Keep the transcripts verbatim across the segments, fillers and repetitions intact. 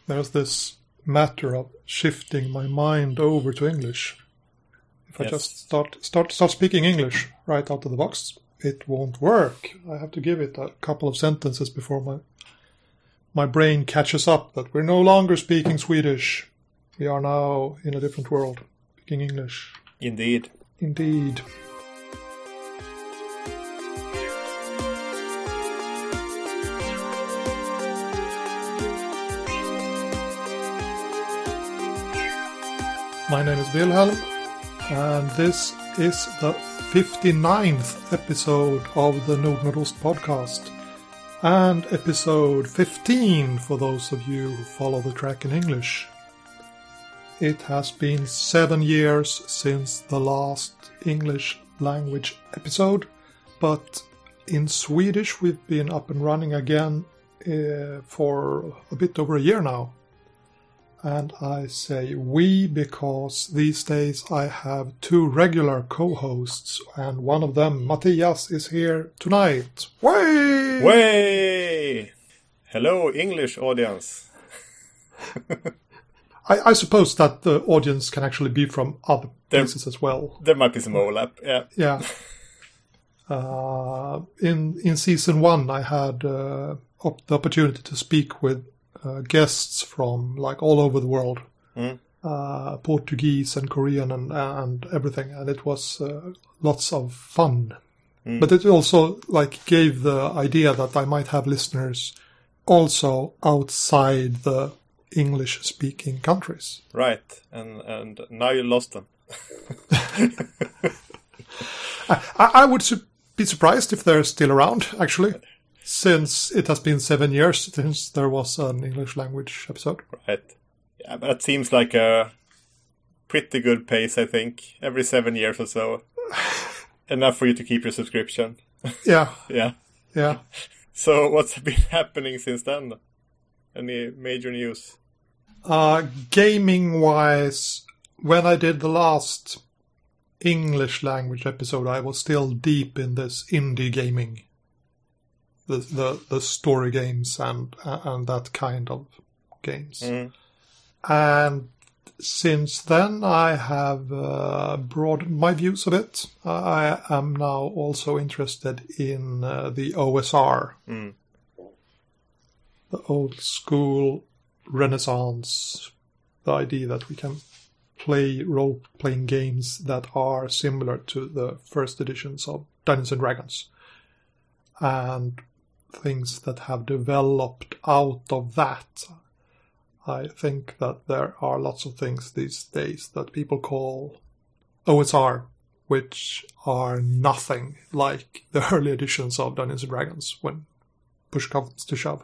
there's this matter of shifting my mind over to English. If yes. I just start start start speaking English right out of the box, it won't work. I have to give it a couple of sentences before my my brain catches up that we're no longer speaking Swedish. We are now in a different world, speaking English. Indeed. Indeed. My name is Wilhelm, and this is the fifty-ninth episode of the Nordnordost podcast, and episode fifteen for those of you who follow the track in English. It has been seven years since the last English language episode, but in Swedish we've been up and running again uh, for a bit over a year now. And I say we because these days I have two regular co-hosts, and one of them, Matthias, is here tonight. Way! Way! Hello, English audience. I, I suppose that the audience can actually be from other there, places as well. There might be some overlap, yeah. Yeah. uh, in in season one, I had uh, op- the opportunity to speak with Uh, guests from like all over the world, mm. uh, Portuguese and Korean and and everything, and it was uh, lots of fun. Mm. But it also like gave the idea that I might have listeners also outside the English-speaking countries. Right, and and now you lost them. I, I would su- be surprised if they're still around, actually. Since it has been seven years since there was an English language episode. Right. Yeah, but that seems like a pretty good pace, I think. Every seven years or so. Enough for you to keep your subscription. Yeah. yeah. Yeah. So what's been happening since then? Any major news? Uh, gaming-wise, when I did the last English language episode, I was still deep in this indie gaming. The, the the story games and and that kind of games. Mm. And since then I have uh, broadened my views a bit. I am now also interested in uh, the O S R. Mm. The old school Renaissance. The idea that we can play role-playing games that are similar to the first editions of Dungeons and Dragons. And things that have developed out of that. I think that there are lots of things these days that people call O S R, which are nothing like the early editions of Dungeons and Dragons when push comes to shove.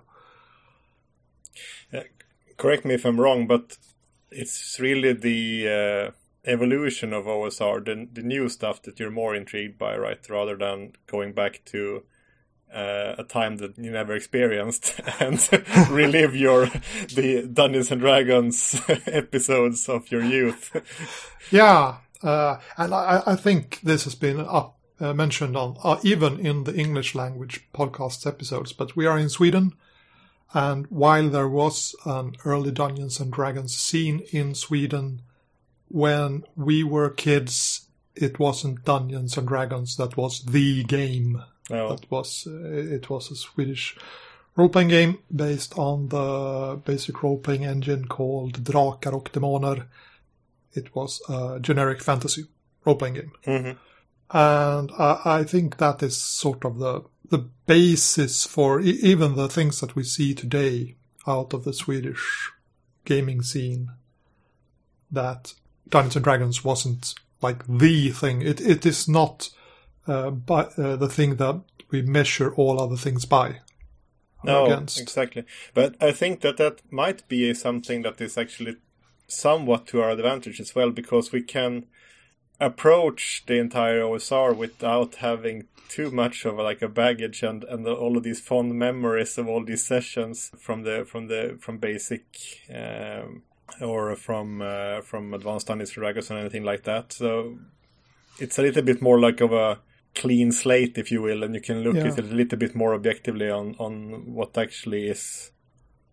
Uh, correct me if I'm wrong, but it's really the uh, evolution of O S R, the, the new stuff that you're more intrigued by, right? Rather than going back to Uh, a time that you never experienced and relive your the Dungeons and Dragons episodes of your youth. Yeah, uh, and I, I think this has been up, uh, mentioned on uh, even in the English language podcast episodes, but we are in Sweden, and while there was an early Dungeons and Dragons scene in Sweden when we were kids, it wasn't Dungeons and Dragons that was the game. No. That was uh, it was a Swedish role-playing game based on the basic role-playing engine called Drakar och Demoner. It was a generic fantasy role-playing game. Mm-hmm. And I, I think that is sort of the the basis for e- even the things that we see today out of the Swedish gaming scene, that Dungeons and Dragons wasn't like the thing. It It is not Uh, but uh, the thing that we measure all other things by. No, against. Exactly. But I think that that might be something that is actually somewhat to our advantage as well, because we can approach the entire O S R without having too much of a, like a baggage and, and the, all of these fond memories of all these sessions from the from the from basic um, or from uh, from Advanced Dungeons and Dragons and anything like that. So it's a little bit more like of a clean slate, if you will, and you can look yeah. at it a little bit more objectively on, on what actually is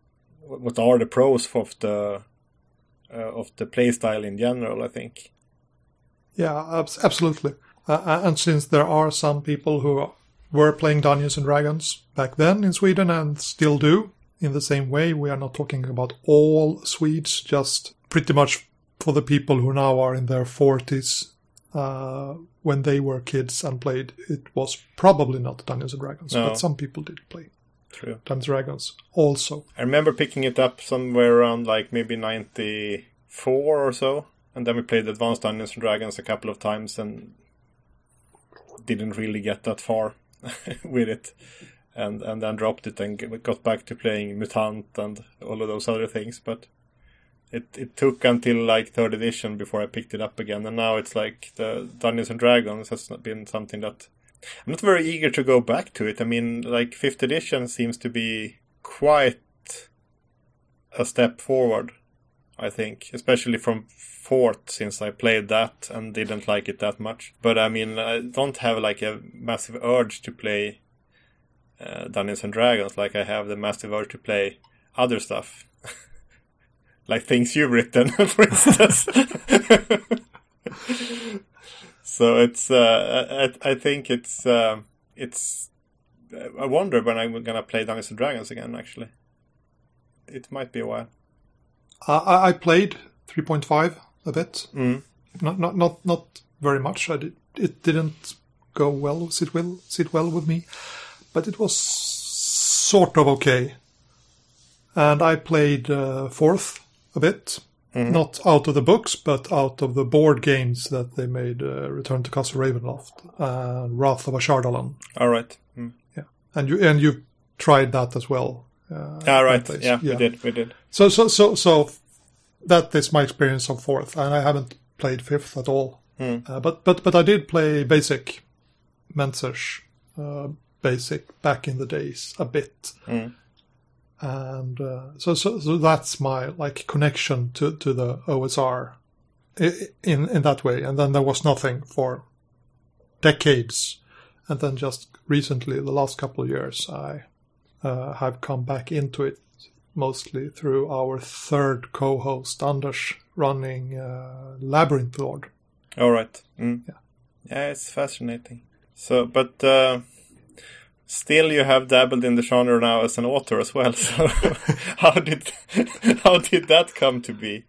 what are the pros of the uh, of the playstyle in general, I think. Yeah, ab- absolutely. Uh, and since there are some people who were playing Dungeons and Dragons back then in Sweden and still do, in the same way, we are not talking about all Swedes, just pretty much for the people who now are in their forties. Uh, when they were kids and played, it was probably not Dungeons and Dragons, no. But some people did play True. Dungeons and Dragons also. I remember picking it up somewhere around like maybe ninety-four or so, and then we played Advanced Dungeons and Dragons a couple of times and didn't really get that far with it, and and then dropped it and got back to playing Mutant and all of those other things, but It it took until like third edition before I picked it up again, and now it's like the Dungeons and Dragons has been something that I'm not very eager to go back to it. I mean, like fifth edition seems to be quite a step forward, I think, especially from fourth, since I played that and didn't like it that much. But I mean, I don't have like a massive urge to play uh, Dungeons and Dragons like I have the massive urge to play other stuff. Like things you've written, for instance. So it's, uh, I, I think it's, uh, it's, I wonder when I'm going to play Dungeons and Dragons again, actually. It might be a while. Uh, I played three point five a bit. Mm. Not, not, not, not very much. I did, it didn't go well, sit well, sit well with me, but it was sort of okay. And I played uh, fourth a bit, mm. not out of the books, but out of the board games that they made, uh, Return to Castle Ravenloft, uh, Wrath of Ashardalon. All right. Mm. Yeah, and you and you tried that as well. Uh, All right. Yeah, yeah, we did. We did. So so so so that is my experience of fourth, and I haven't played fifth at all. Mm. Uh, but but but I did play basic, Mentzer's uh, basic back in the days a bit. Mm. And uh, so, so, so that's my like connection to, to the O S R in in that way. And then there was nothing for decades, and then just recently, the last couple of years, I uh, have come back into it mostly through our third co-host Anders running uh, Labyrinth Lord. All right. Mm. Yeah, yeah, it's fascinating. So, but. Uh... Still, you have dabbled in the genre now as an author as well. So, how did how did that come to be?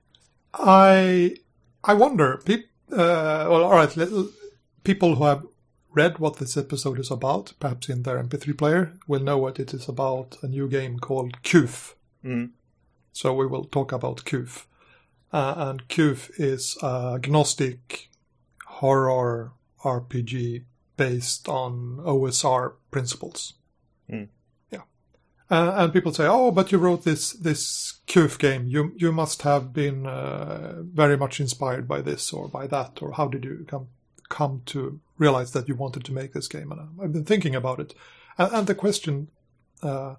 I I wonder. Pe- uh, well, all right. Little, people who have read what this episode is about, perhaps in their M P three player, will know what it is about. A new game called Q F. Mm. So we will talk about Q F, uh, and Q F is a agnostic horror R P G based on O S R principles. Mm. Yeah. Uh, and people say, oh, but you wrote this this Q F game. You you must have been uh, very much inspired by this or by that. Or how did you come come to realize that you wanted to make this game? And I've been thinking about it. And, and the question, uh,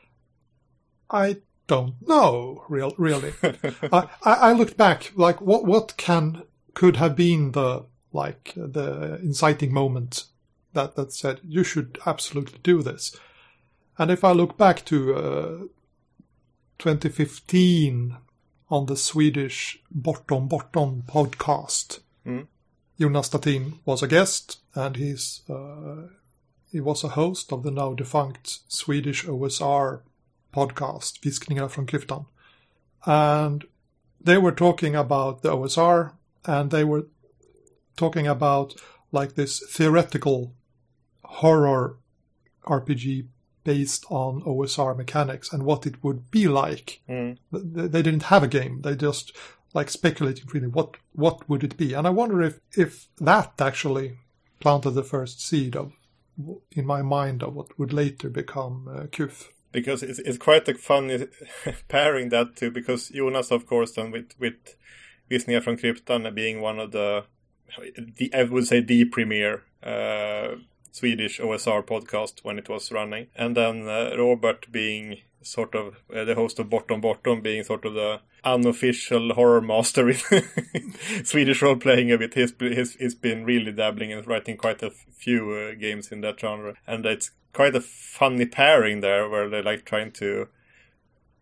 I don't know, real, really. I, I, I looked back, like, what, what can could have been the like the inciting moment that, that said, you should absolutely do this. And if I look back to uh, twenty fifteen on the Swedish Bortom Bortom podcast, mm. Jonas Statin was a guest, and he's uh, he was a host of the now defunct Swedish O S R podcast, Viskningar från Klyftan. And they were talking about the O S R, and they were talking about like this theoretical horror R P G based on O S R mechanics and what it would be like. Mm. They didn't have a game. They just like speculating really what what would it be. And I wonder if, if that actually planted the first seed of in my mind of what would later become uh, Q F. Because it's it's quite a funny pairing that too, because Jonas, of course, then with with Viskningar från Klyftan being one of the, the I would say the premier uh, Swedish O S R podcast when it was running, and then uh, Robert being sort of uh, the host of Bortom Bortom, being sort of the unofficial horror master in Swedish role playing a bit. He's, he's he's been really dabbling and writing quite a few uh, games in that genre, and it's quite a funny pairing there where they're like trying to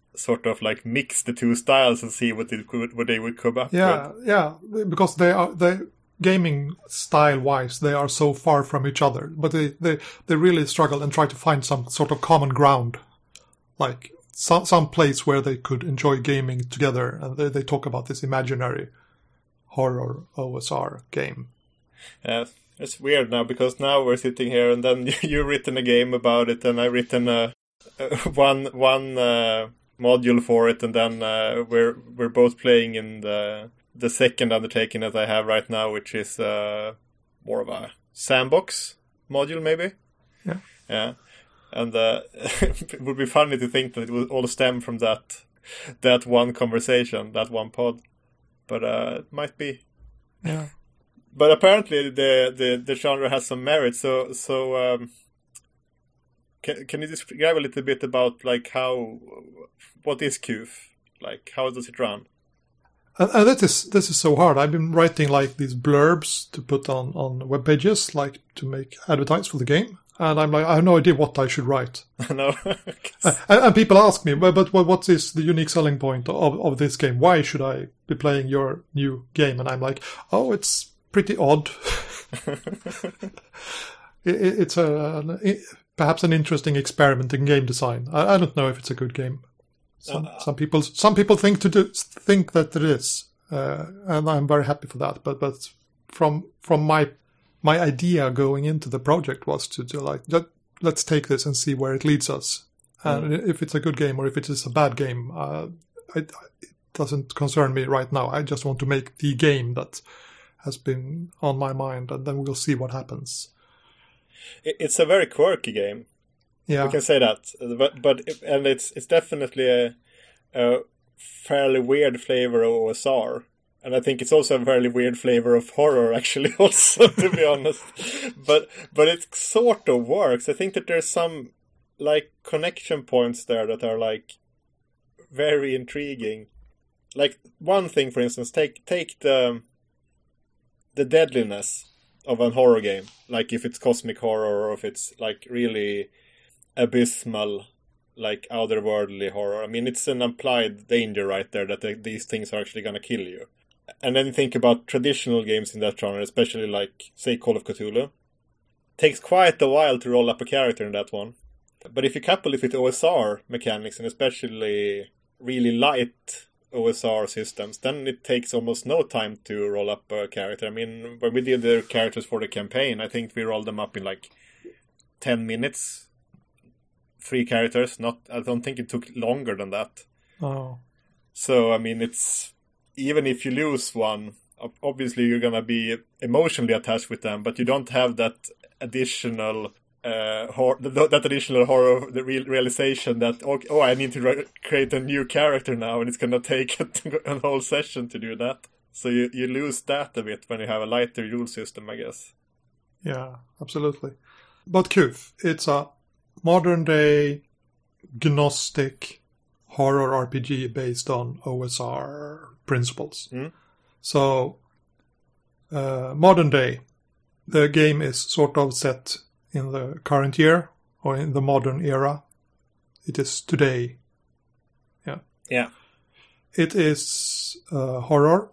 sort of like mix the two styles and see what, it could, what they would come up yeah, with. Yeah, yeah, because they are they gaming style-wise, they are so far from each other, but they, they, they really struggle and try to find some sort of common ground, like some some place where they could enjoy gaming together, and they, they talk about this imaginary horror O S R game. Yeah, it's weird now, because now we're sitting here, and then you've written a game about it, and I've written a, a one one uh, module for it, and then uh, we're we're both playing in the the second undertaking that I have right now, which is uh, more of a sandbox module, maybe. Yeah. Yeah. And uh, it would be funny to think that it would all stem from that that one conversation, that one pod. But uh, it might be. Yeah. But apparently the, the, the genre has some merit. So so um, can can you describe a little bit about like how what is Q F? Like how does it run? And, and that is this is so hard. I've been writing like these blurbs to put on, on web pages, like to make advertise for the game. And I'm like, I have no idea what I should write. No. and, and people ask me, but, but what is the unique selling point of, of this game? Why should I be playing your new game? And I'm like, oh, it's pretty odd. it, it's a it, perhaps an interesting experiment in game design. I, I don't know if it's a good game. Some, uh, some people some people think to do, think that it is, uh, and I'm very happy for that. But but from from my my idea going into the project was to, to like let, let's take this and see where it leads us, and mm. if it's a good game or if it is a bad game, uh, I, it doesn't concern me right now. I just want to make the game that has been on my mind, and then we'll see what happens. It's a very quirky game. Yeah, we can say that, but but and it's it's definitely a, a fairly weird flavor of O S R, and I think it's also a fairly weird flavor of horror, actually. Also, to be honest, but but it sort of works. I think that there's some like connection points there that are like very intriguing. Like one thing, for instance, take take the the deadliness of a horror game, like if it's cosmic horror or if it's like really abysmal, like otherworldly horror. I mean, it's an implied danger right there that they, these things are actually going to kill you. And then you think about traditional games in that genre, especially like, say, Call of Cthulhu. It takes quite a while to roll up a character in that one. But if you couple it with O S R mechanics, and especially really light O S R systems, then it takes almost no time to roll up a character. I mean, when we did the characters for the campaign, I think we rolled them up in like ten minutes. Three characters. Not. I don't think it took longer than that. Oh. So, I mean, it's... Even if you lose one, obviously you're going to be emotionally attached with them, but you don't have that additional... Uh, hor- that additional horror, the real realization that, oh, oh I need to re- create a new character now, and it's going to take a whole session to do that. So you, you lose that a bit when you have a lighter rule system, I guess. Yeah, absolutely. But Q F, it's a modern-day Gnostic horror R P G based on O S R principles. Mm. So, uh, modern day, the game is sort of set in the current year or in the modern era. It is today. Yeah. Yeah. It is uh, horror,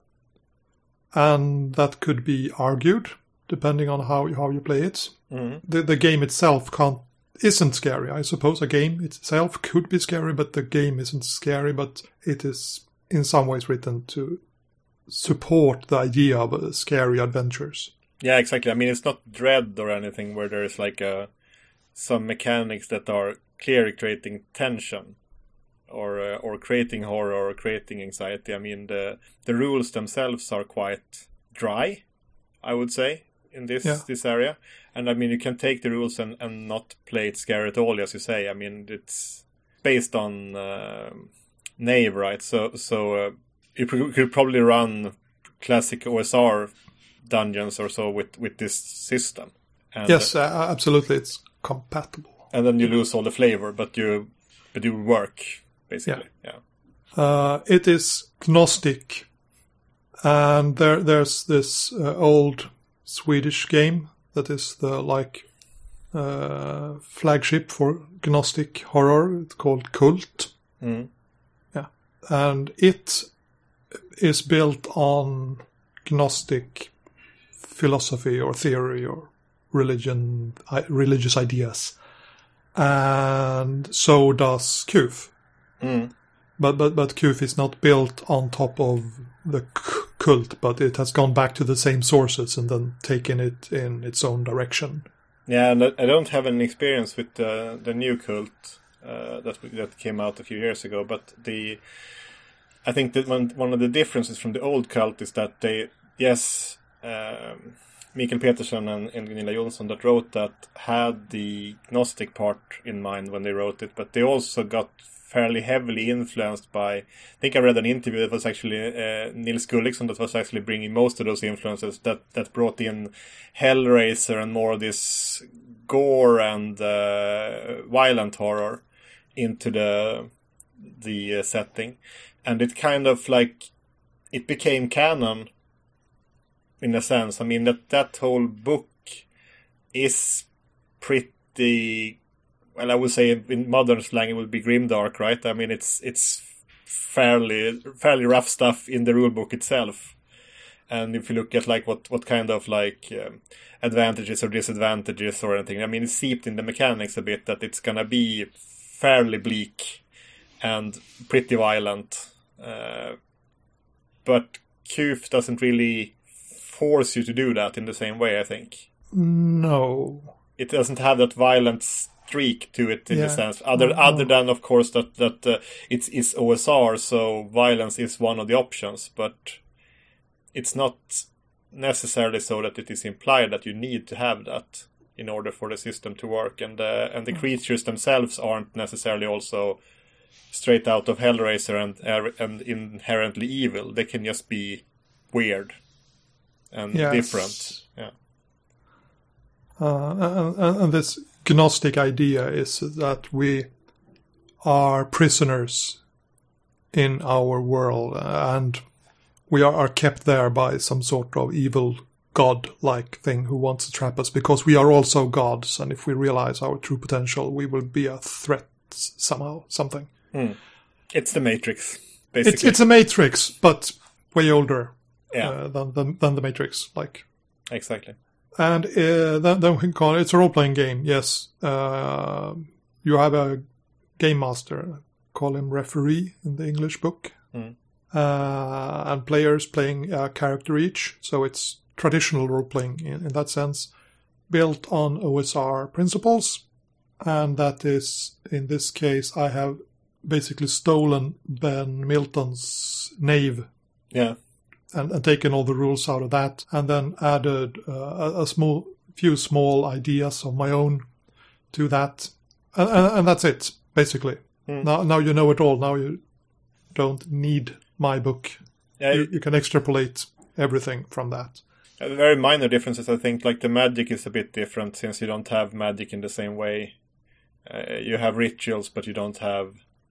and that could be argued depending on how how you play it. Mm-hmm. The the game itself can't isn't scary. I suppose a game itself could be scary, but the game isn't scary. But it is in some ways written to support the idea of uh, scary adventures. Yeah, exactly. I mean, it's not Dread or anything where there's like a, some mechanics that are clearly creating tension or uh, or creating horror or creating anxiety. I mean, the the rules themselves are quite dry, I would say, in this yeah. this area. And I mean, you can take the rules and, and not play it scary at all, as you say. I mean, it's based on uh, Knave, right? So so uh, you could probably run classic O S R dungeons or so with, with this system. And, yes, uh, absolutely, it's compatible. And then you lose all the flavor, but you but you work basically. Yeah. yeah. Uh, it is Gnostic, and there there's this uh, old Swedish game that is the like uh, flagship for Gnostic horror. It's called Kult. Mm. and it is built on Gnostic philosophy or theory or religion, religious ideas, and so does Q F. Mm. But but but Q F is not built on top of the c- cult, but it has gone back to the same sources and then taken it in its own direction. Yeah, and I don't have any experience with the the new cult uh, that that came out a few years ago. But the I think that one one of the differences from the old cult is that they yes, um, Mikael Peterson and, and Gunilla Jonsson that wrote that had the Gnostic part in mind when they wrote it, but they also got fairly heavily influenced by, I think I read an interview that was actually uh, Nils Gulliksson that was actually bringing most of those influences that, that brought in Hellraiser and more of this gore and uh, violent horror into the the uh, setting. And it kind of like, it became canon in a sense. I mean, that, that whole book is pretty... Well, I would say in modern slang it would be grimdark, right? I mean, it's it's fairly fairly rough stuff in the rulebook itself. And if you look at like what, what kind of like um, advantages or disadvantages or anything, I mean, it's seeped in the mechanics a bit that it's gonna be fairly bleak and pretty violent. Uh, but Q F doesn't really force you to do that in the same way, I think. No. It doesn't have that violence streak to it in yeah. the sense other no, other no. than of course that that uh, it's it's O S R, so violence is one of the options, but it's not necessarily so that it is implied that you need to have that in order for the system to work, and uh, and the creatures themselves aren't necessarily also straight out of Hellraiser and uh, and inherently evil. They can just be weird and yes. different. Yeah. Uh, and, and this Gnostic idea is that we are prisoners in our world, and we are, are kept there by some sort of evil god-like thing who wants to trap us, because we are also gods, and if we realize our true potential, we will be a threat somehow, something. Mm. It's the Matrix, basically. It's, it's a Matrix, but way older yeah. uh, than, than, than the Matrix, like. Exactly. And uh, then, then we can call it, it's a role-playing game, yes. Uh, you have a game master, call him referee in the English book. Mm. Uh, and players playing a character each. So it's traditional role-playing in, in that sense, built on O S R principles. And that is, in this case, I have basically stolen Ben Milton's Knave. Yeah. And, and taken all the rules out of that, and then added uh, a, a small, few small ideas of my own to that, and, and, and that's it basically. Mm. Now, now you know it all. Now you don't need my book. Yeah, you, you can extrapolate everything from that. Uh, very minor differences, I think. Like the magic is a bit different since you don't have magic in the same way. Uh, you have rituals, but you don't have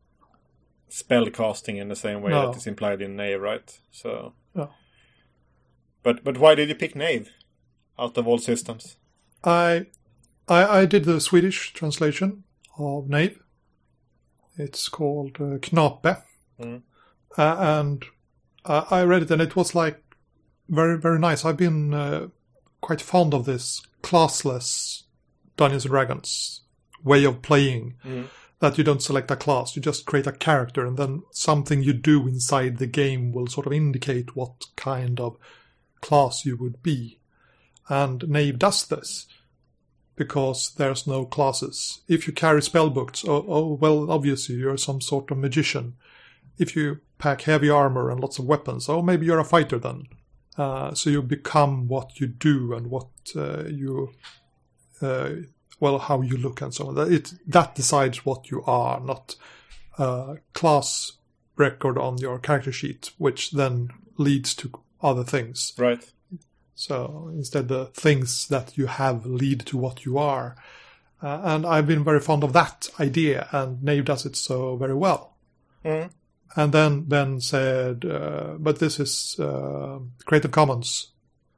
spell casting in the same way no. that is implied in Knave, right? So. No. But but why did you pick Knave out of all systems? I I, I did the Swedish translation of Knave. It's called uh, Knape. Mm. Uh, and uh, I read it and it was like very, very nice. I've been uh, quite fond of this classless Dungeons and Dragons way of playing. Mm. That you don't select a class, you just create a character, and then something you do inside the game will sort of indicate what kind of class you would be. And Knave does this, because there's no classes. If you carry spellbooks, oh, oh well, obviously you're some sort of magician. If you pack heavy armor and lots of weapons, oh, maybe you're a fighter then. Uh, so you become what you do and what uh, you... Uh, well, how you look and so on. It, that decides what you are, not a class record on your character sheet, which then leads to other things. Right. So instead the things that you have lead to what you are. Uh, and I've been very fond of that idea, and Knave does it so very well. Mm. And then Ben said, uh, but this is uh, Creative Commons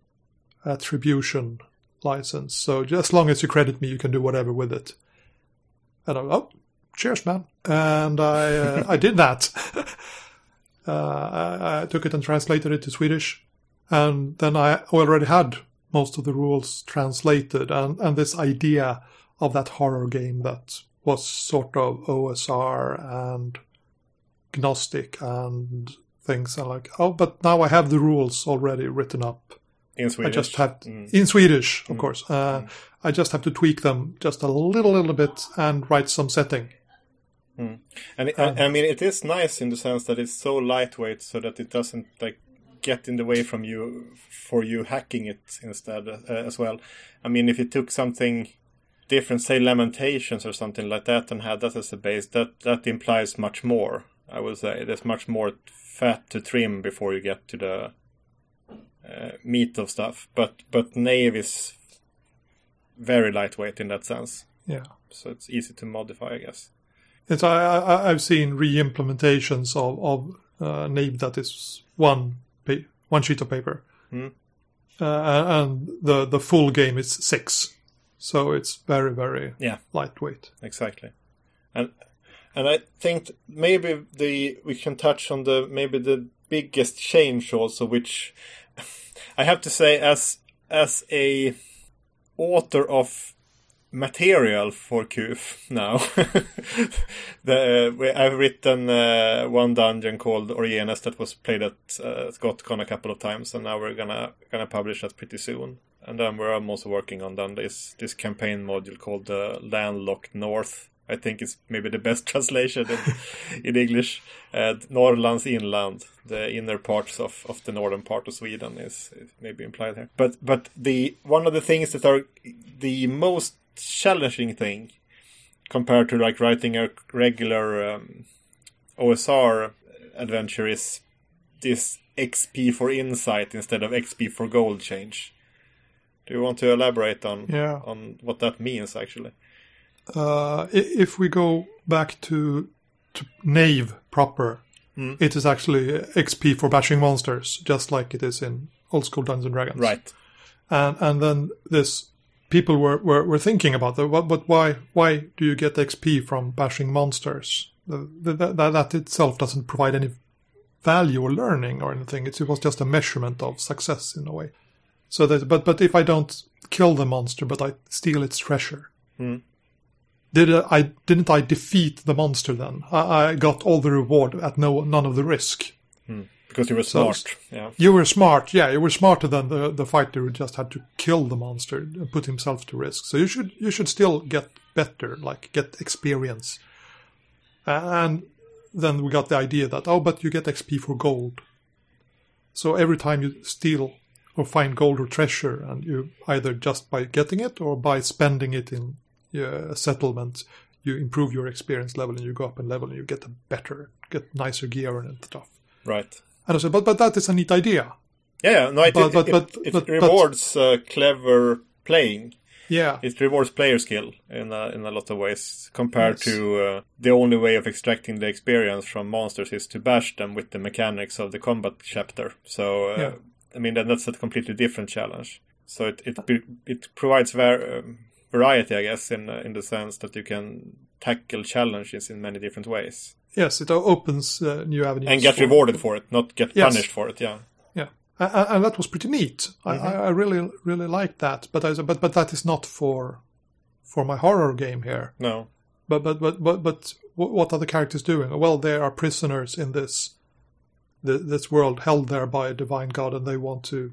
attribution license, so just as long as you credit me, you can do whatever with it. And I'm, oh, cheers, man. And I uh, I did that. Uh, I, I took it and translated it to Swedish, and then I already had most of the rules translated, and, and this idea of that horror game that was sort of O S R and Gnostic and things, and like, oh, but now I have the rules already written up. In Swedish? I just have to, mm. in Swedish, of mm. course. Uh, mm. I just have to tweak them just a little, little bit and write some setting. Mm. And it, um, I mean, it is nice in the sense that it's so lightweight, so that it doesn't like get in the way from you for you hacking it instead uh, as well. I mean, if you took something different, say Lamentations or something like that, and had that as a base, that that implies much more. I would say there's much more fat to trim before you get to the uh, meat of stuff. But but Knave is very lightweight in that sense. Yeah. So it's easy to modify, I guess. It's I, I I've seen re-implementations of of uh, Knave that is one pa- one sheet of paper, mm. uh, and the the full game is six, so it's very very yeah lightweight. Exactly, and and I think maybe the we can touch on the maybe the biggest change also, which I have to say as as a author of material for Q F now. the, uh, I've written uh, one dungeon called Orienes that was played at uh, ScottCon a couple of times, and now we're gonna gonna publish that pretty soon. And then we're also working on then this this campaign module called the uh, Landlocked North. I think it's maybe the best translation in, in English. Uh, Norrlands inland, the inner parts of, of the northern part of Sweden is, is maybe implied here. But but the one of the things that are the most challenging thing compared to like writing a regular um, O S R adventure is this X P for insight instead of X P for gold change. Do you want to elaborate on yeah. on what that means actually? Uh, if we go back to, to Knave proper, mm. it is actually X P for bashing monsters, just like it is in old school Dungeons and Dragons. Right. And and then this people were, were, were thinking about that, but, but why why do you get X P from bashing monsters? That, that, that itself doesn't provide any value or learning or anything. It, it was just a measurement of success in a way. So that, but but if I don't kill the monster, but I steal its treasure. Mm. Did I didn't I defeat the monster then? I, I got all the reward at no none of the risk. Hmm. Because you were smart. So, yeah. You were smart, yeah. You were smarter than the, the fighter who just had to kill the monster and put himself to risk. So you should you should still get better, like get experience. And then we got the idea that oh, but you get X P for gold. So every time you steal or find gold or treasure, and you either just by getting it or by spending it in Uh, settlement, you improve your experience level and you go up in level and you get a better, get nicer gear and stuff. Right. And I said, but but that is a neat idea. Yeah, no, it, but, it, but, it, but, it but, rewards but, uh, clever playing. Yeah. It rewards player skill in a, in a lot of ways compared yes. to uh, the only way of extracting the experience from monsters is to bash them with the mechanics of the combat chapter. So, uh, yeah. I mean, that's a completely different challenge. So it it, it provides very... Um, variety, I guess, in uh, in the sense that you can tackle challenges in many different ways. Yes, it opens uh, new avenues. And get for, rewarded for it, not get yes. punished for it, yeah. Yeah, and, and that was pretty neat. Mm-hmm. I, I really, really liked that. But I said, but but that is not for for my horror game here. No. But but but but but what are the characters doing? Well, they are prisoners in this this world, held there by a divine god, and they want to.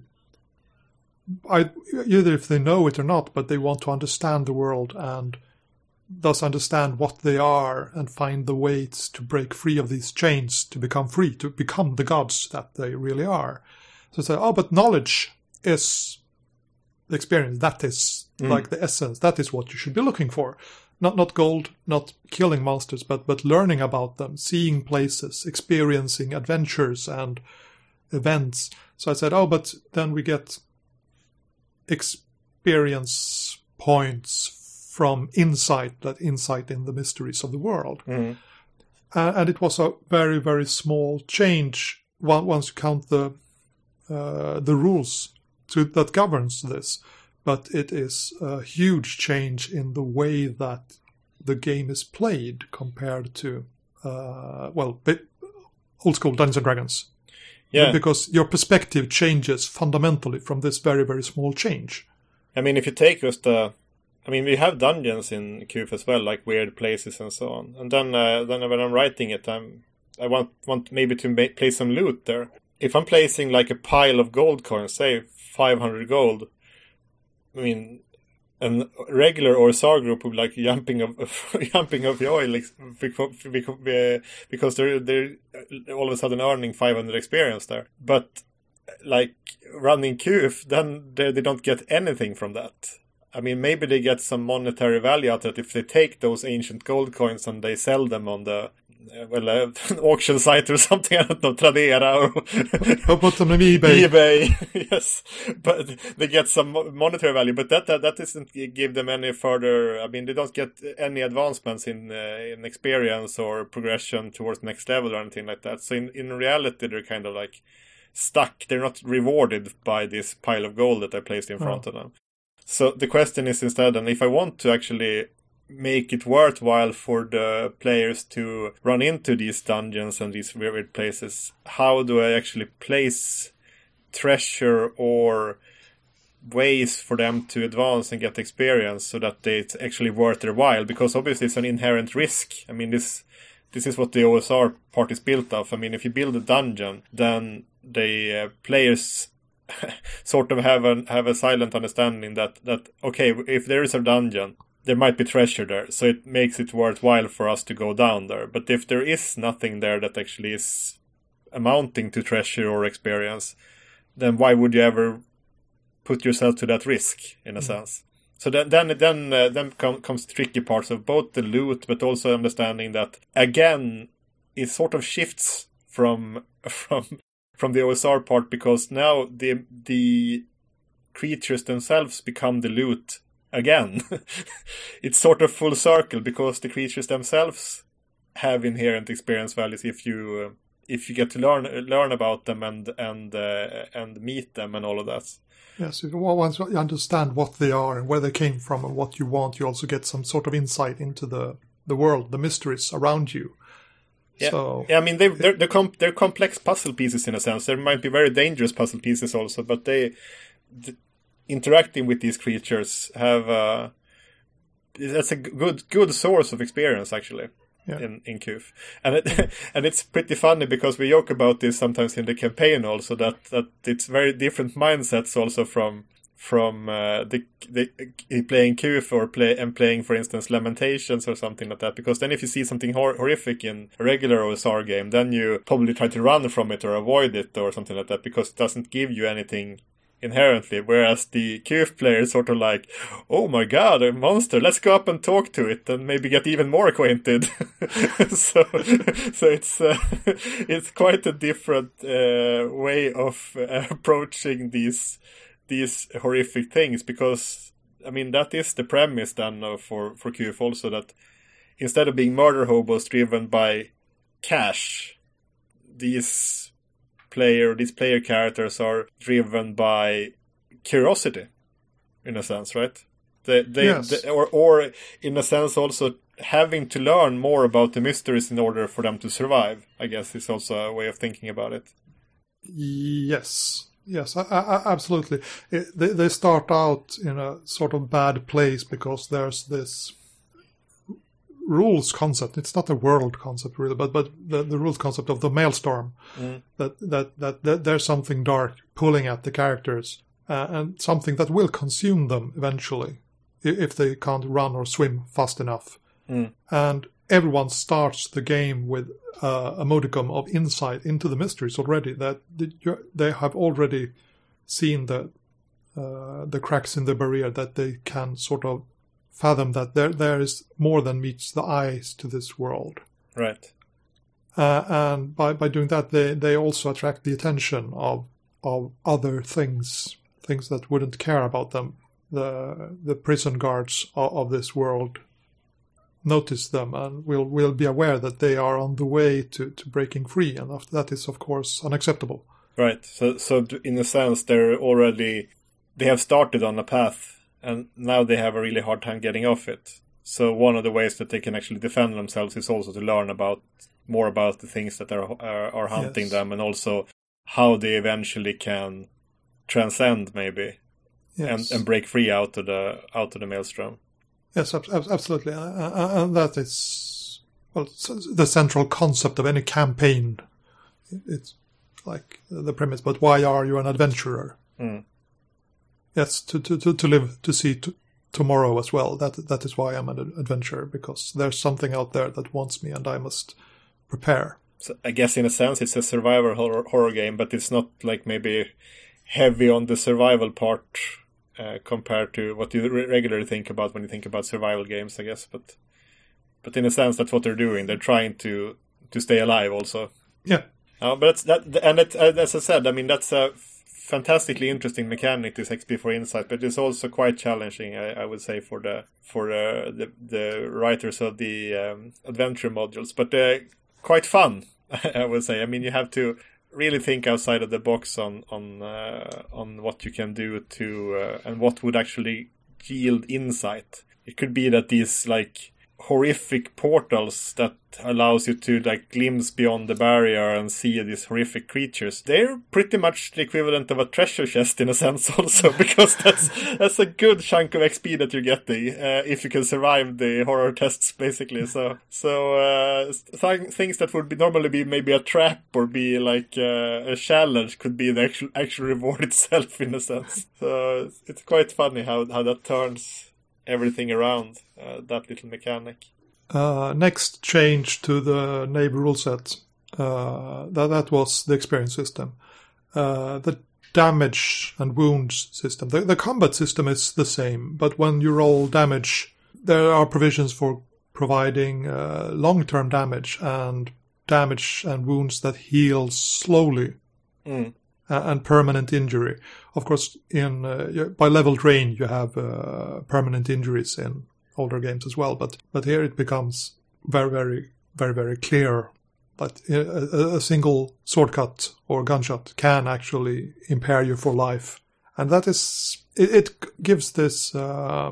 I, either if they know it or not, but they want to understand the world and thus understand what they are and find the ways to break free of these chains, to become free, to become the gods that they really are. So say, oh, but knowledge is the experience. That is mm. like the essence. That is what you should be looking for. Not not gold, not killing monsters, but, but learning about them, seeing places, experiencing adventures and events. So I said, oh, but then we get experience points from insight, that insight in the mysteries of the world. Mm. Uh, and it was a very, very small change once you count the uh, the rules to, that governs this. But it is a huge change in the way that the game is played compared to, uh, well, old school Dungeons and Dragons. Yeah. Because your perspective changes fundamentally from this very, very small change. I mean, if you take just the... I mean, we have dungeons in Q F as well, like weird places and so on. And then uh, then when I'm writing it, I'm, I want want maybe to ma- place some loot there. If I'm placing like a pile of gold coins, say five hundred gold, I mean... a regular O S R group would be like jumping of jumping of joy, like because because they're they're all of a sudden earning five hundred experience there. But like running Q F, then they they don't get anything from that. I mean, maybe they get some monetary value out of it if they take those ancient gold coins and they sell them on the uh, well uh, an auction site or something. I don't know, Tradera or or put them on eBay. eBay, yes. But they get some monetary value, but that that, that doesn't give them any further. I mean, they don't get any advancements in uh, in experience or progression towards the next level or anything like that. So in in reality, they're kind of like stuck. They're not rewarded by this pile of gold that I placed in front oh. of them. So the question is instead, and if I want to actually make it worthwhile for the players to run into these dungeons and these weird places, how do I actually place treasure or ways for them to advance and get experience so that it's actually worth their while? Because obviously it's an inherent risk. I mean, this this is what the O S R part is built of. I mean, if you build a dungeon, then the uh, players sort of have a have a silent understanding that that okay, if there is a dungeon, there might be treasure there, so it makes it worthwhile for us to go down there. But if there is nothing there that actually is amounting to treasure or experience, then why would you ever put yourself to that risk, in a mm. sense? So then then then, uh, then com- comes tricky parts of both the loot, but also understanding that, again, it sort of shifts from from from the O S R part, because now the the creatures themselves become the loot again. It's sort of full circle, because the creatures themselves have inherent experience values if you uh, if you get to learn learn about them and and uh, and meet them and all of that. Yes, once you understand what they are and where they came from and what you want, you also get some sort of insight into the the world, the mysteries around you. Yeah, so, yeah. I mean, they they're they're, com- they're complex puzzle pieces in a sense. There might be very dangerous puzzle pieces also, but they. The, interacting with these creatures have uh, that's a good good source of experience actually yeah. in in Q F, and it, and it's pretty funny because we joke about this sometimes in the campaign also, that that it's very different mindsets also from from uh, the, the playing Q F or play and playing, for instance, Lamentations or something like that. Because then if you see something hor- horrific in a regular O S R game, then you probably try to run from it or avoid it or something like that, because it doesn't give you anything inherently, whereas the Q F player is sort of like, oh my god, a monster, let's go up and talk to it and maybe get even more acquainted. so so it's uh, it's quite a different uh, way of uh, approaching these these horrific things, because I mean that is the premise then uh, for, for Q F also, that instead of being murder hobos driven by cash, these player these player characters are driven by curiosity, in a sense, right? They, they, yes. they or or in a sense also having to learn more about the mysteries in order for them to survive, I guess, is also a way of thinking about it. Yes, yes, I, I, absolutely. It, they, they start out in a sort of bad place because there's this rules concept. It's not a world concept really, but but the, the rules concept of the maelstrom. Mm. That, that that that there's something dark pulling at the characters, uh, and something that will consume them eventually if they can't run or swim fast enough. Mm. And everyone starts the game with uh, a modicum of insight into the mysteries already. That they have already seen the uh, the cracks in the barrier, that they can sort of fathom that there there is more than meets the eyes to this world. Right. Uh, and by, by doing that, they, they also attract the attention of of other things, things that wouldn't care about them. The the prison guards of, of this world notice them and will will be aware that they are on the way to, to breaking free, and that is, of course, unacceptable. Right. So so in a sense, they're already they have started on a path. And now they have a really hard time getting off it. So one of the ways that they can actually defend themselves is also to learn about more about the things that are are, are hunting yes. them, and also how they eventually can transcend maybe yes. and, and break free out of the out of the maelstrom. Yes, ab- absolutely, uh, and that is well the central concept of any campaign. It's like the premise, but why are you an adventurer? Mm. Yes, to, to, to, to live, to see t- tomorrow as well. That That is why I'm an adventurer, because there's something out there that wants me and I must prepare. So I guess in a sense it's a survival horror, horror game, but it's not like maybe heavy on the survival part uh, compared to what you re- regularly think about when you think about survival games, I guess. But but in a sense that's what they're doing. They're trying to, to stay alive also. Yeah. Uh, but it's that, and it, as I said, I mean, that's a fantastically interesting mechanic, this X P for Insight, but it's also quite challenging, I, I would say, for the for uh, the the writers of the um, adventure modules. But uh, quite fun, I would say. I mean, you have to really think outside of the box on on uh, on what you can do to uh, and what would actually yield insight. It could be that these like horrific portals that allows you to like glimpse beyond the barrier and see these horrific creatures. They're pretty much the equivalent of a treasure chest in a sense also, because that's that's a good chunk of X P that you're getting uh, if you can survive the horror tests basically. So so uh, th- things that would be normally be maybe a trap or be like uh, a challenge could be the actual actual reward itself in a sense. So it's quite funny how how that turns everything around, uh, that little mechanic. Uh, next change to the Nave rule set, uh, that, that was the experience system. Uh, the damage and wounds system. The, the combat system is the same, but when you roll damage, there are provisions for providing uh, long-term damage and damage and wounds that heal slowly. Mm. And permanent injury. Of course, in uh, by leveled rain, you have uh, permanent injuries in older games as well. But but here it becomes very, very, very, very clear that a, a single sword cut or gunshot can actually impair you for life, and that is it, it gives this uh,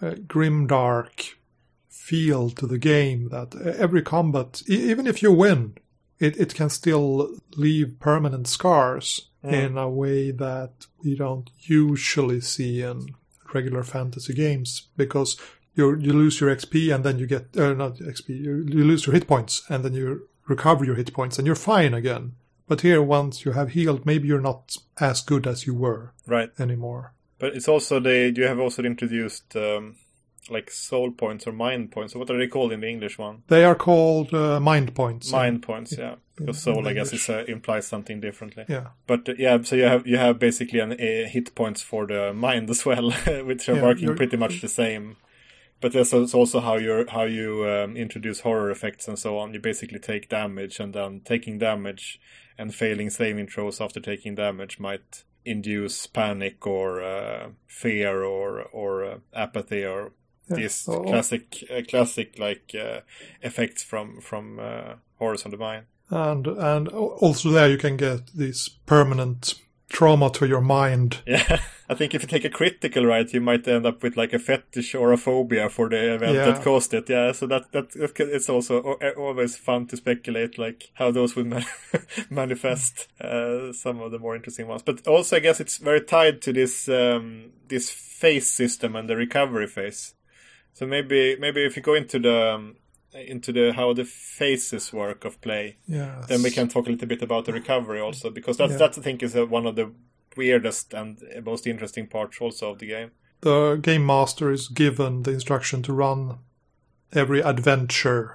grimdark feel to the game that every combat, even if you win, it it can still leave permanent scars. Mm. In a way that we don't usually see in regular fantasy games, because you you lose your X P and then you get uh, not X P you, you lose your hit points and then you recover your hit points and you're fine again. But here, once you have healed, maybe you're not as good as you were right anymore. But it's also the you have also introduced um, like soul points or mind points. So what are they called in the English one? They are called uh, mind points. Mind in, points, yeah. In, because soul, I guess, is, uh, implies something differently. Yeah. But uh, yeah, so you have you have basically an uh, hit points for the mind as well, which are yeah, working pretty much the same. But that's also how you how you um, introduce horror effects and so on. You basically take damage, and then taking damage and failing saving throws after taking damage might induce panic or uh, fear or or uh, apathy or yeah. these oh. classic uh, classic like uh, effects from from uh, horrors on the mind. And and also there you can get these permanent trauma to your mind. Yeah, I think if you take a critical, right, you might end up with like a fetish or a phobia for the event yeah. that caused it. Yeah, so that that it's also always fun to speculate like how those would man- manifest. Uh, some of the more interesting ones, but also I guess it's very tied to this um, this phase system and the recovery phase. So maybe maybe if you go into the um, into the how the phases work of play, yes. then we can talk a little bit about the recovery also, because that's yeah. that I think is uh, one of the weirdest and most interesting parts also of the game. The game master is given the instruction to run every adventure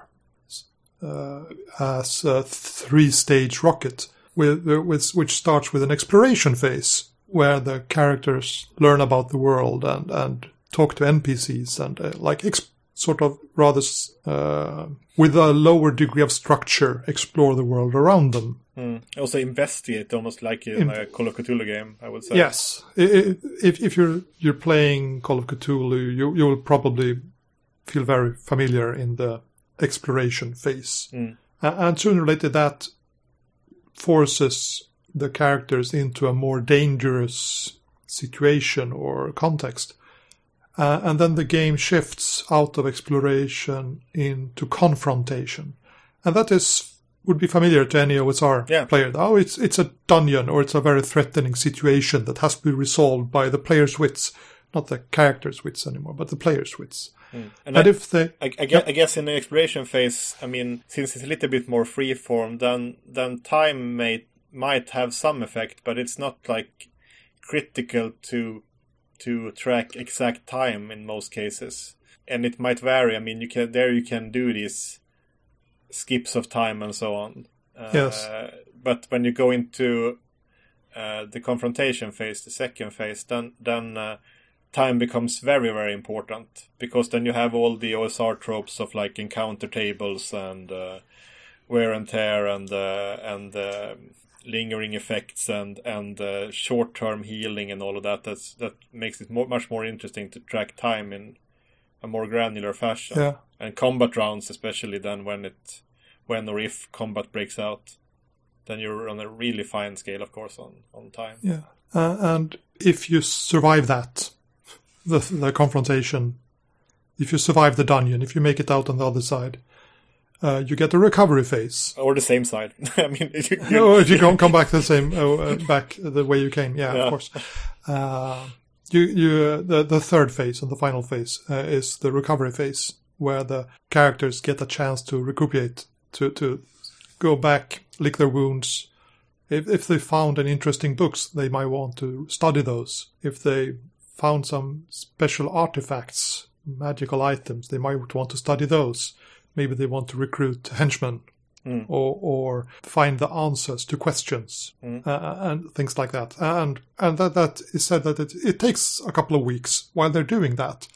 uh, as a three-stage rocket, with, with which starts with an exploration phase where the characters learn about the world and and talk to N P Cs and uh, like. Exp- sort of rather uh, with a lower degree of structure, explore the world around them. Mm. Also investigate, almost like in, in a Call of Cthulhu game, I would say. Yes. If if you're you're playing Call of Cthulhu, you you will probably feel very familiar in the exploration phase. Mm. And sooner or later that forces the characters into a more dangerous situation or context. Uh, and then the game shifts out of exploration into confrontation. And that is would be familiar to any O S R yeah. player. Oh, it's it's a dungeon or it's a very threatening situation that has to be resolved by the player's wits, not the character's wits anymore, but the player's wits. Mm. And, and I, if they, I, I, guess, I guess in the exploration phase, I mean, since it's a little bit more freeform, then then time may might have some effect, but it's not like critical to to track exact time in most cases, and it might vary. I mean, you can there you can do these skips of time and so on. Uh, yes. But when you go into uh, the confrontation phase, the second phase, then then. Uh, time becomes very, very important, because then you have all the O S R tropes of like encounter tables and uh, wear and tear and uh, and uh, lingering effects and and uh, short-term healing and all of that. That's that makes it more, much more interesting to track time in a more granular fashion. Yeah. And combat rounds, especially then when it when or if combat breaks out, then you're on a really fine scale, of course, on on time. Yeah, uh, and if you survive that. The, the confrontation, if you survive the dungeon, if you make it out on the other side, uh, you get a recovery phase. Or the same side. I mean, if you, you, or if you come come back the same uh, back the way you came, yeah, yeah. of course. Uh, you you uh, the the third phase and the final phase uh, is the recovery phase, where the characters get a chance to recuperate, to to go back, lick their wounds. If if they found any interesting books, they might want to study those. If they found some special artifacts, magical items, they might want to study those. Maybe they want to recruit henchmen mm. or or find the answers to questions mm. uh, and things like that. And and that, that is said that it, it takes a couple of weeks while they're doing that.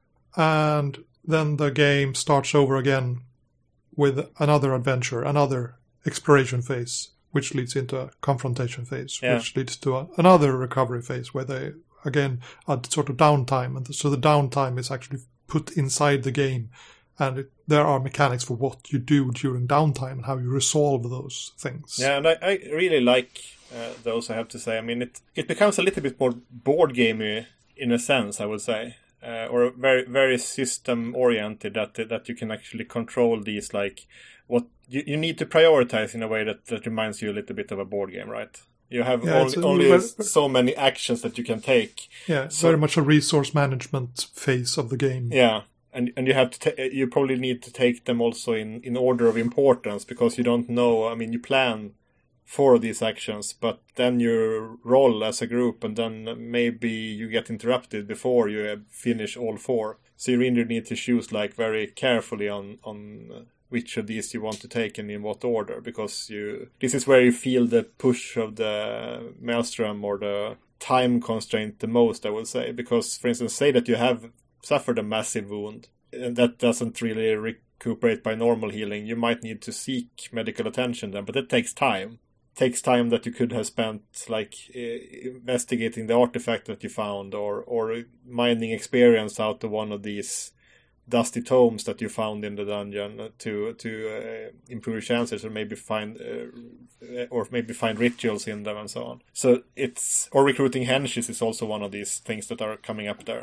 And then the game starts over again with another adventure, another exploration phase, which leads into a confrontation phase, yeah. which leads to a, another recovery phase where they again, a sort of downtime, and so the downtime is actually put inside the game, and it, there are mechanics for what you do during downtime and how you resolve those things. Yeah, and I, I really like uh, those, I have to say. I mean, it it becomes a little bit more board gamey in a sense, I would say, uh, or very very system oriented, that that you can actually control these, like what you, you need to prioritize in a way that, that reminds you a little bit of a board game, right? You have yeah, only, a, only very, so many actions that you can take. Yeah, it's so, very much a resource management phase of the game. Yeah, and and you have to ta- you probably need to take them also in, in order of importance, because you don't know. I mean, you plan for these actions, but then you roll as a group, and then maybe you get interrupted before you finish all four. So you really need to choose like very carefully on on. which of these you want to take and in what order, because you this is where you feel the push of the maelstrom or the time constraint the most, I would say. Because, for instance, say that you have suffered a massive wound and that doesn't really recuperate by normal healing, you might need to seek medical attention then, but that takes time. It takes time that you could have spent like uh, investigating the artifact that you found, or or mining experience out of one of these dusty tomes that you found in the dungeon to to uh, improve your chances, or maybe find uh, or maybe find rituals in them and so on. So it's or recruiting henches is also one of these things that are coming up there.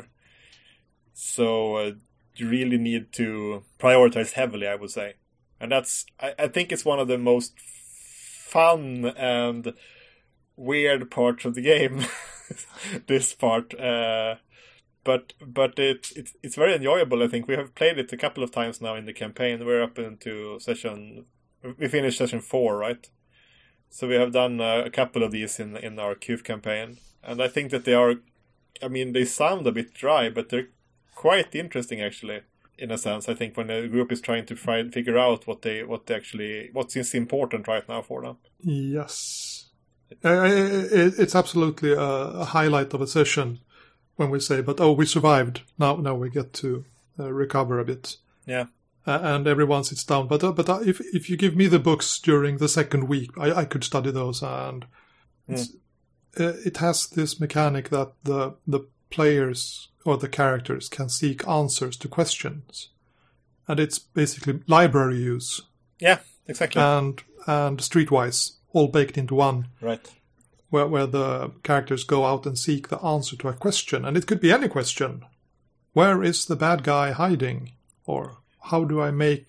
So uh, you really need to prioritize heavily, I would say, and that's I, I think it's one of the most fun and weird parts of the game. This part. Uh, But but it, it it's very enjoyable, I think. We have played it a couple of times now in the campaign. We're up into session... We finished session four, right? So we have done uh, a couple of these in in our Q F campaign. And I think that they are... I mean, they sound a bit dry, but they're quite interesting, actually, in a sense. I think when a group is trying to try, figure out what they what they actually... What's important right now for them. Yes. Uh, it's absolutely a highlight of a session. When we say, but oh, we survived. Now, now we get to uh, recover a bit. Yeah. Uh, and everyone sits down. But uh, but uh, if if you give me the books during the second week, I, I could study those. And it's, mm. uh, it has this mechanic that the the players or the characters can seek answers to questions, and it's basically library use. Yeah, exactly. And and streetwise, all baked into one. Right. Where, where the characters go out and seek the answer to a question. And it could be any question. Where is the bad guy hiding? Or how do I make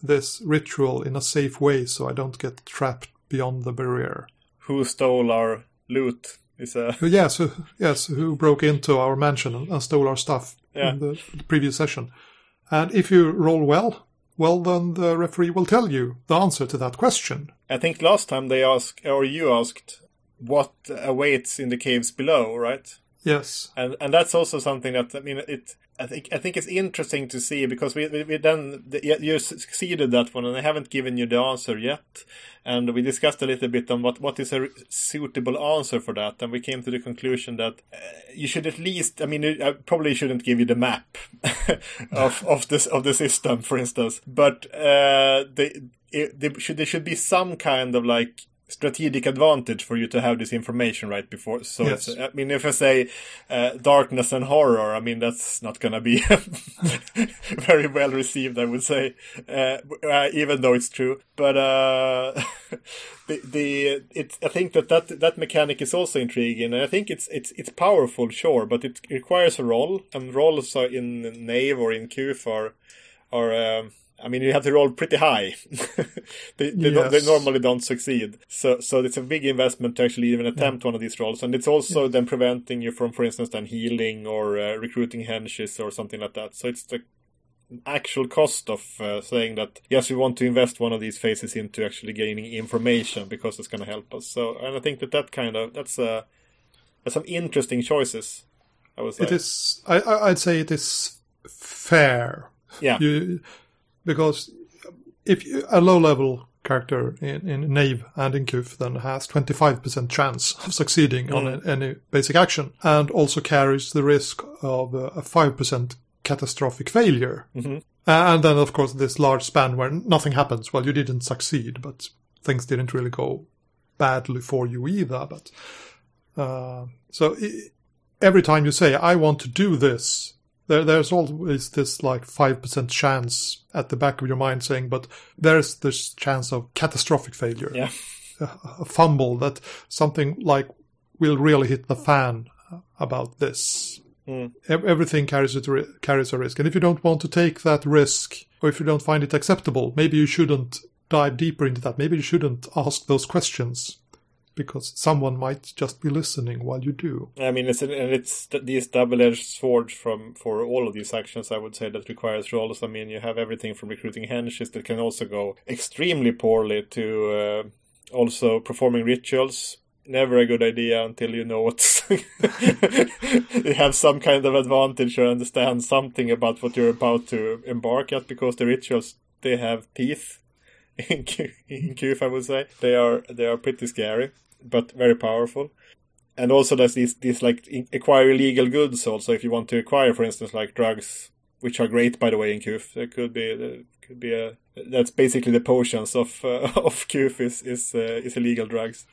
this ritual in a safe way so I don't get trapped beyond the barrier. Who stole our loot? Is a... Yes, who, yes, who broke into our mansion and, and stole our stuff yeah. in the, the previous session. And if you roll well, well, then the referee will tell you the answer to that question. I think last time they asked, or you asked, what awaits in the caves below, right? Yes. And and that's also something that, I mean, it. I think I think it's interesting to see, because we we, we then you succeeded that one, and I haven't given you the answer yet. And we discussed a little bit on what, what is a suitable answer for that, and we came to the conclusion that uh, you should at least, I mean, I probably shouldn't give you the map of of this of the system, for instance, but uh, they, it, they should there should be some kind of like strategic advantage for you to have this information right before. So yes. it's, I mean, if I say uh, darkness and horror, I mean, that's not going to be very well received, I would say, uh, uh, even though it's true. But uh, the the it, I think that, that that mechanic is also intriguing, and I think it's it's it's powerful, sure, but it requires a roll, and rolls are in Knave or in Q F are are. Um, I mean, you have to roll pretty high. they, they, yes. they normally don't succeed. So so it's a big investment to actually even attempt yeah. one of these rolls. And it's also yeah. then preventing you from, for instance, then healing or uh, recruiting henches or something like that. So it's the actual cost of uh, saying that, yes, we want to invest one of these phases into actually gaining information because it's going to help us. So, and I think that that kind of, that's, uh, that's some interesting choices, I would say. It is, I, I'd say it is fair. Yeah. You... Because if you, a low-level character in, in Knave and in Q F then has twenty-five percent chance of succeeding mm. on a, any basic action, and also carries the risk of a, a five percent catastrophic failure. Mm-hmm. And then, of course, this large span where nothing happens. Well, you didn't succeed, but things didn't really go badly for you either. But uh, so I, every time you say, I want to do this, There, there's always this like five percent chance at the back of your mind saying, but there's this chance of catastrophic failure. Yeah. A, a fumble, that something like will really hit the fan about this. Mm. E- everything carries, it, carries a risk. And if you don't want to take that risk, or if you don't find it acceptable, maybe you shouldn't dive deeper into that. Maybe you shouldn't ask those questions, because someone might just be listening while you do. I mean, it's, and it's these double-edged swords from for all of these actions, I would say, that requires rolls. I mean, you have everything from recruiting henches that can also go extremely poorly to uh, also performing rituals. Never a good idea until you know what's... you have some kind of advantage or understand something about what you're about to embark at, because the rituals, they have teeth. In Q, in Q F, I would say they are they are pretty scary, but very powerful. And also there's these these like acquire illegal goods. Also, if you want to acquire, for instance, like drugs, which are great, by the way, in Q F, there could be there could be a that's basically the potions of uh, of Q F is is uh, is illegal drugs.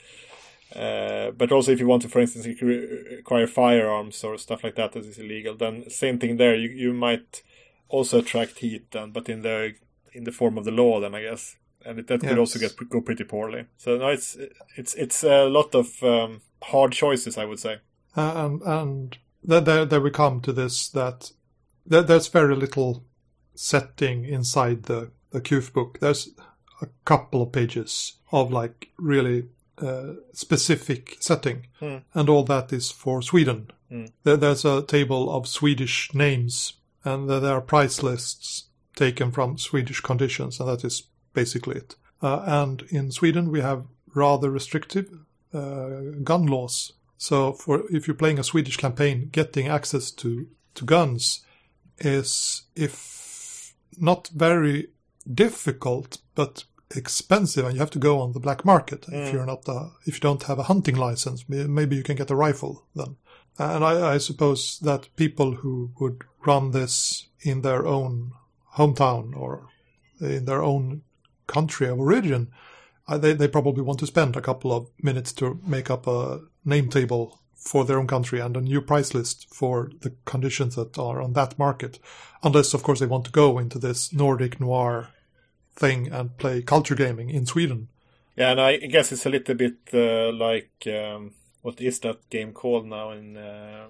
Uh, but also, if you want to, for instance, acquire firearms or stuff like that that is illegal, then same thing there. You you might also attract heat, then, but in the in the form of the law, then I guess. And it, that yes. could also get go pretty poorly. So no, it's it's it's a lot of um, hard choices, I would say. Uh, and and then there, there we come to this, that there, there's very little setting inside the, the Q F book. There's a couple of pages of like really uh, specific setting. Hmm. And all that is for Sweden. Hmm. There, there's a table of Swedish names, and there, there are price lists taken from Swedish conditions, and that is basically it. Uh, and in Sweden, we have rather restrictive uh, gun laws. So for if you're playing a Swedish campaign, getting access to, to guns is, if not very difficult, but expensive, and you have to go on the black market. Mm. If you're not, a, if you don't have a hunting license, maybe you can get a rifle then. And I, I suppose that people who would run this in their own hometown or in their own country of origin, uh, they, they probably want to spend a couple of minutes to make up a name table for their own country and a new price list for the conditions that are on that market. Unless, of course, they want to go into this Nordic noir thing and play culture gaming in Sweden. Yeah, and I guess it's a little bit uh, like, um, what is that game called now in uh,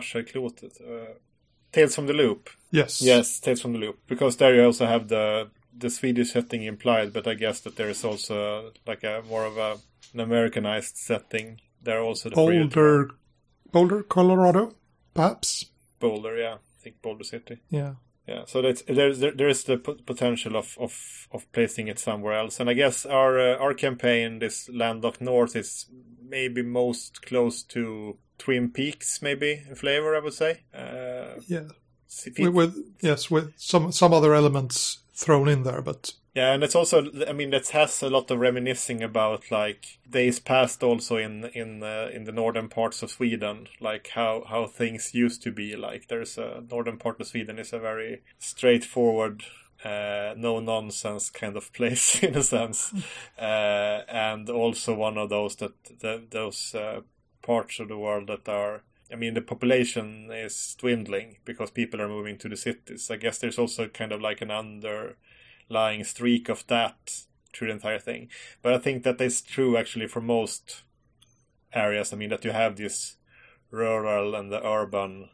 Varselklotet? Uh, Tales from the Loop. Yes. Yes, Tales from the Loop. Because there you also have the the Swedish setting implied, but I guess that there is also like a more of a, an Americanized setting. There are also the Boulder, Boulder, Colorado, perhaps. Boulder, yeah, I think Boulder City. Yeah, yeah. So that's there's there, there is the p- potential of, of, of placing it somewhere else, and I guess our uh, our campaign, this Landlocked North, is maybe most close to Twin Peaks, maybe in flavor, I would say. Uh, yeah, with, with yes, with some some other elements thrown in there, but. Yeah, and it's also, I mean, that has a lot of reminiscing about, like, days past also in in uh, in the northern parts of Sweden, like how, how things used to be. Like, there's a northern part of Sweden is a very straightforward, uh, no-nonsense kind of place, in a sense. uh, and also one of those that, the, those uh, parts of the world that are, I mean, the population is dwindling because people are moving to the cities. I guess there's also kind of like an under... lying streak of that through the entire thing. But I think that is true actually for most areas. I mean, that you have this rural and the urban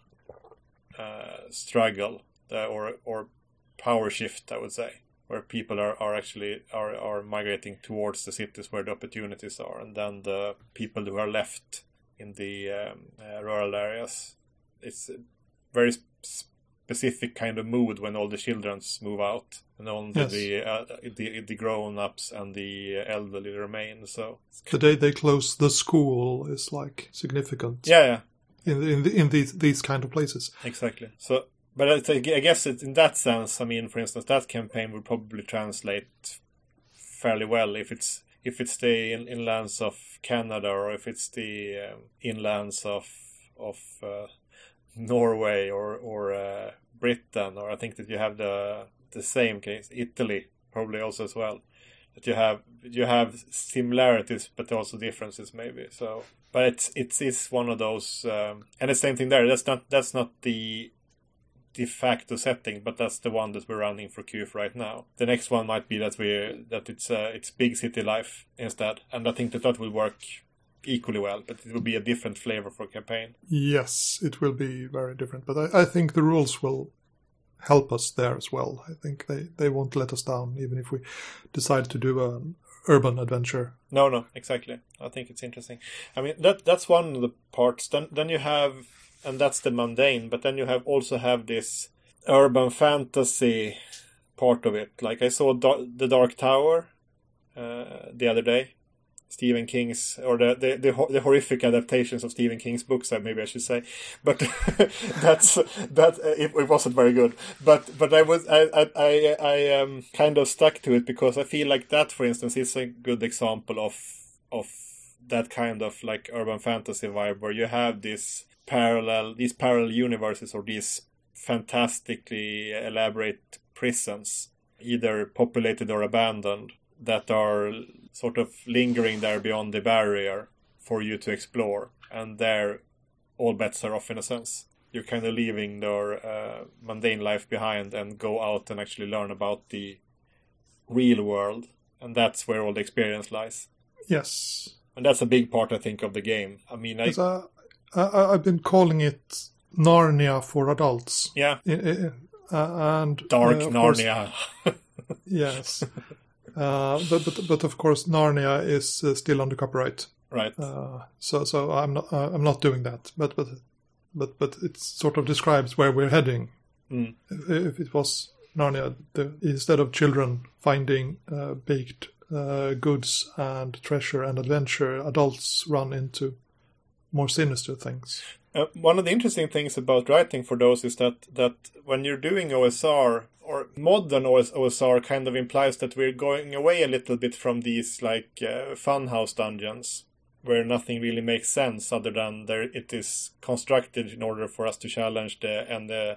uh, struggle uh, or or power shift, I would say, where people are, are actually are, are migrating towards the cities where the opportunities are, and then the people who are left in the um, uh, rural areas, it's a very sp- specific kind of mood when all the children move out. And only yes. the, uh, the the grown-ups and the elderly remain. So the day they close the school is like significant. Yeah, yeah. In in the, in these these kind of places. Exactly. So, but I, I guess it, in that sense, I mean, for instance, that campaign would probably translate fairly well if it's if it's the in, inlands of Canada or if it's the um, inlands of of uh, Norway or or uh, Britain, or I think that you have the the same case, Italy probably also as well. That you have you have similarities but also differences maybe. So, but it's it's it's one of those, um, and the same thing there. That's not that's not the de facto setting, but that's the one that we're running for Q F right now. The next one might be that we that it's uh, it's big city life instead, and I think that that will work equally well, but it will be a different flavor for campaign. Yes, it will be very different, but I, I think the rules will help us there as well. I think they, they won't let us down, even if we decide to do an urban adventure. No, no, exactly. I think it's interesting. I mean, that that's one of the parts. Then then you have, and that's the mundane, but then you have also have this urban fantasy part of it. Like I saw da- The Dark Tower uh, the other day. Stephen King's, or the, the the the horrific adaptations of Stephen King's books, maybe I should say, but that's that uh, it, it wasn't very good. But but I was I I I, I um, kind of stuck to it because I feel like that, for instance, is a good example of of that kind of like urban fantasy vibe where you have this parallel these parallel universes or these fantastically elaborate prisons, either populated or abandoned, that are sort of lingering there beyond the barrier for you to explore. And there, all bets are off in a sense. You're kind of leaving their uh, mundane life behind and go out and actually learn about the real world. And that's where all the experience lies. Yes. And that's a big part, I think, of the game. I mean, I... Uh, I I've been calling it Narnia for adults. Yeah. Uh, and Dark uh, Narnia. Course, yes. Uh, but, but but of course Narnia is uh, still under copyright, right? Uh, so so I'm not uh, I'm not doing that. But but but but it sort of describes where we're heading. Mm. If, if it was Narnia, the, instead of children finding uh, baked uh, goods and treasure and adventure, adults run into more sinister things. Uh, one of the interesting things about writing for those is that that when you're doing O S R, or modern O S R kind of implies that we're going away a little bit from these like uh, funhouse dungeons where nothing really makes sense other than there it is constructed in order for us to challenge the and uh,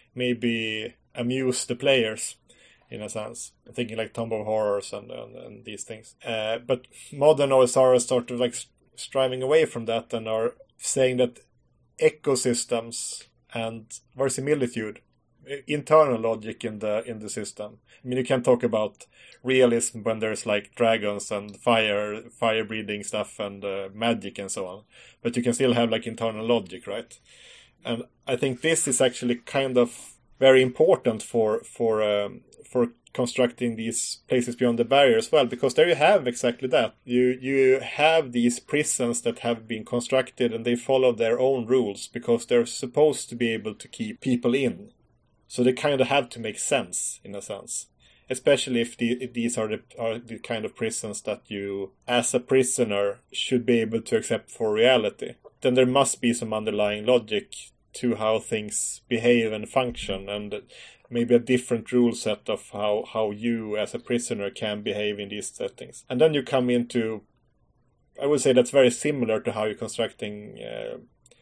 maybe amuse the players in a sense. I'm thinking like Tomb of Horrors and, and, and these things. Uh, but modern O S R is sort of like striving away from that and are saying that ecosystems and verisimilitude, internal logic in the in the system. I mean, you can talk about realism when there's like dragons and fire fire breathing stuff and uh, magic and so on, but you can still have like internal logic, right? And I think this is actually kind of very important for for um, for constructing these places beyond the barrier as well, because there you have exactly that. You you have these prisons that have been constructed and they follow their own rules because they're supposed to be able to keep people in. So they kind of have to make sense, in a sense. Especially if, the, if these are the, are the kind of prisons that you, as a prisoner, should be able to accept for reality. Then there must be some underlying logic to how things behave and function, and maybe a different rule set of how, how you as a prisoner can behave in these settings. And then you come into, I would say that's very similar to how you're constructing uh,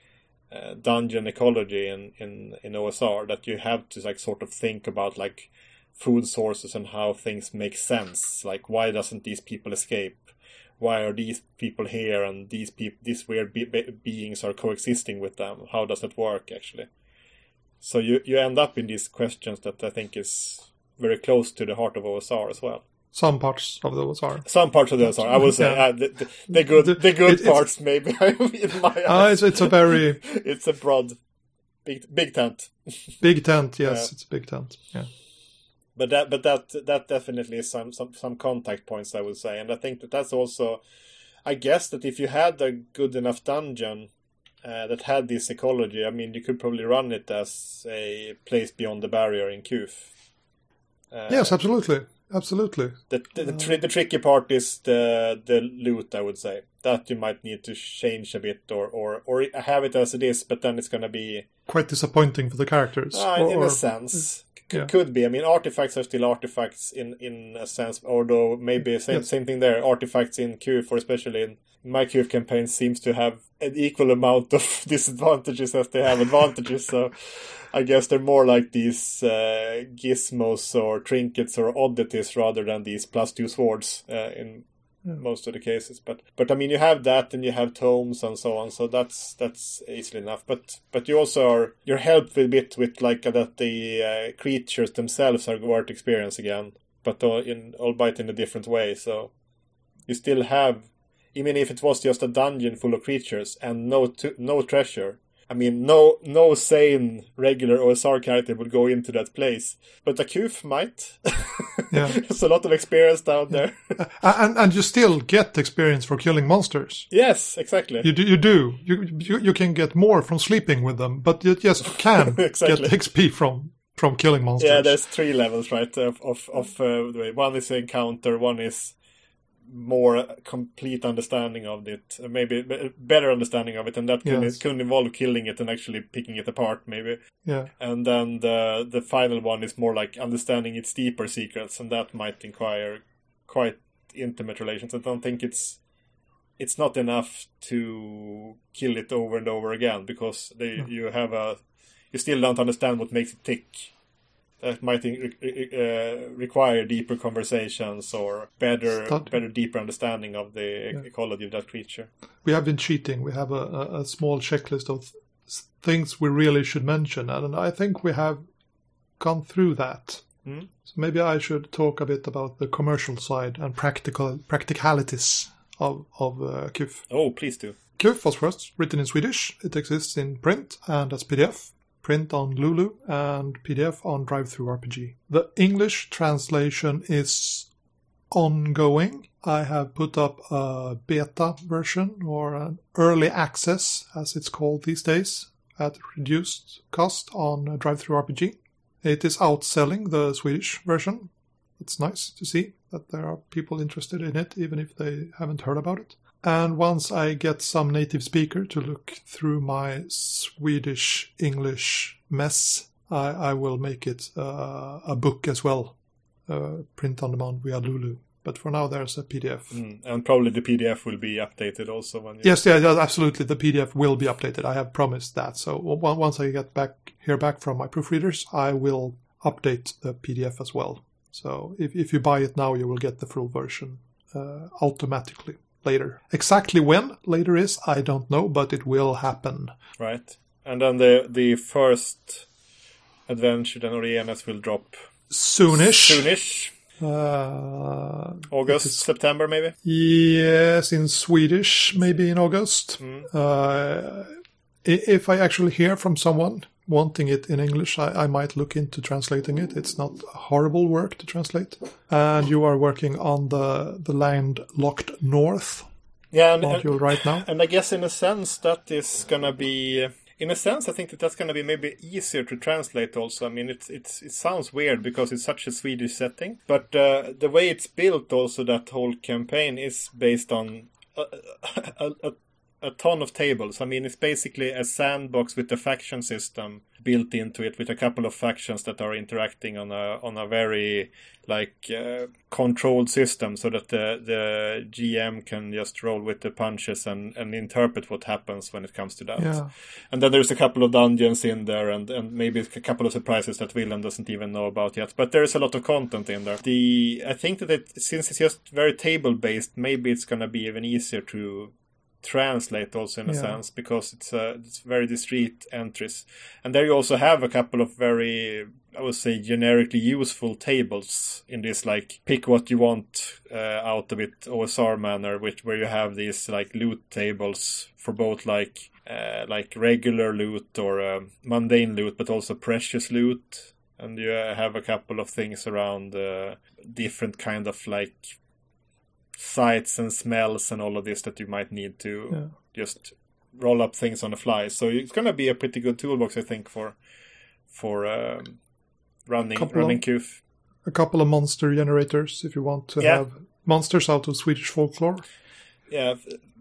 uh, dungeon ecology in, in, in O S R, that you have to like sort of think about like food sources and how things make sense. Like, why doesn't these people escape? Why are these people here and these people, these weird be- be- beings are coexisting with them? How does it work actually? So you, you end up in these questions that I think is very close to the heart of O S R as well. Some parts of the O S R. Some parts of the O S R, I would say. Yeah. Uh, the, the, the good, the, the good it, parts, maybe. In my eyes. Uh, it's, it's a very. It's a broad, big, big tent. Big tent, yes, yeah. It's a big tent. Yeah. But that, but that, that definitely is some, some, some contact points, I would say, and I think that that's also. I guess that if you had a good enough dungeon uh, that had this ecology, I mean, you could probably run it as a place beyond the barrier in Q F. Uh, yes, absolutely. Absolutely. The the, the, tri- the tricky part is the the loot, I would say. That you might need to change a bit or, or, or have it as it is, but then it's going to be... quite disappointing for the characters. Uh, or, in or, a sense. C- yeah. Could be. I mean, artifacts are still artifacts in, in a sense, although maybe same yes. same thing there. Artifacts in Q F, or especially in my Q F campaign, seems to have an equal amount of disadvantages as they have advantages, so... I guess they're more like these uh, gizmos or trinkets or oddities rather than these plus two swords uh, in yeah. most of the cases. But but I mean, you have that and you have tomes and so on, so that's that's easily enough. But but you also are you're helped a bit with like uh, that the uh, creatures themselves are worth experience again, but uh, in albeit in a different way. So you still have, even if it was just a dungeon full of creatures and no to, no treasure. I mean, no no sane, regular O S R character would go into that place. But a Q F might. Yeah. There's a lot of experience down yeah. there. and and you still get experience for killing monsters. Yes, exactly. You do. You do. You you, you can get more from sleeping with them, but you, yes, you can exactly. get X P from, from killing monsters. Yeah, there's three levels, right, of, of, of uh, one is encounter, one is... more complete understanding of it, maybe better understanding of it, and that can, yes. can involve killing it and actually picking it apart, maybe. Yeah. And then the the final one is more like understanding its deeper secrets, and that might require quite intimate relations. I don't think it's it's not enough to kill it over and over again, because they yeah. you have a you still don't understand what makes it tick. That might uh, require deeper conversations or better, Start. better, deeper understanding of the yeah. ecology of that creature. We have been cheating. We have a, a, a small checklist of th- things we really should mention, and I think we have gone through that. Mm. So maybe I should talk a bit about the commercial side and practical practicalities of of uh, Q F. Oh, please do. Q F was first written in Swedish. It exists in print and as P D F. Print on Lulu and P D F on DriveThruRPG. The English translation is ongoing. I have put up a beta version, or an early access as it's called these days, at reduced cost on DriveThruRPG. It is outselling the Swedish version. It's nice to see that there are people interested in it, even if they haven't heard about it. And once I get some native speaker to look through my Swedish-English mess, I, I will make it uh, a book as well, uh, print on demand via Lulu. But for now, there's a P D F. Mm, and probably the P D F will be updated also. When you... Yes, yeah, absolutely. The P D F will be updated. I have promised that. So once I get back hear back from my proofreaders, I will update the P D F as well. So if, if you buy it now, you will get the full version uh, automatically. Later. Exactly when later is, I don't know, but it will happen. Right. And then the the first adventure, then, or E M S will drop... Soonish. Soonish. Uh, August, is, September, maybe? Yes, in Swedish, maybe in August. Mm. Uh, if I actually hear from someone wanting it in English, I, I might look into translating it. It's not horrible work to translate. And you are working on the, the Landlocked North yeah, and, module and, right now. And I guess in a sense that is going to be... In a sense, I think that that's going to be maybe easier to translate also. I mean, it's it's it sounds weird because it's such a Swedish setting. But uh, the way it's built also, that whole campaign is based on a, a, a, a ton of tables. I mean, it's basically a sandbox with a faction system built into it, with a couple of factions that are interacting on a on a very like uh, controlled system, so that the the G M can just roll with the punches and, and interpret what happens when it comes to that. Yeah. And then there's a couple of dungeons in there, and, and maybe a couple of surprises that Willem doesn't even know about yet. But there's a lot of content in there. The I think that it, since it's just very table based, maybe it's going to be even easier to translate also in a yeah. sense, because it's uh, it's very discrete entries. And there you also have a couple of very, I would say, generically useful tables in this, like, pick what you want uh, out of it O S R manner, which where you have these like loot tables for both like uh, like regular loot or uh, mundane loot, but also precious loot. And you uh, have a couple of things around uh, different kind of like sights and smells and all of this that you might need to yeah. just roll up things on the fly. So it's going to be a pretty good toolbox, I think, for for um, running running Q F. A couple of monster generators if you want to yeah. have monsters out of Swedish folklore. Yeah,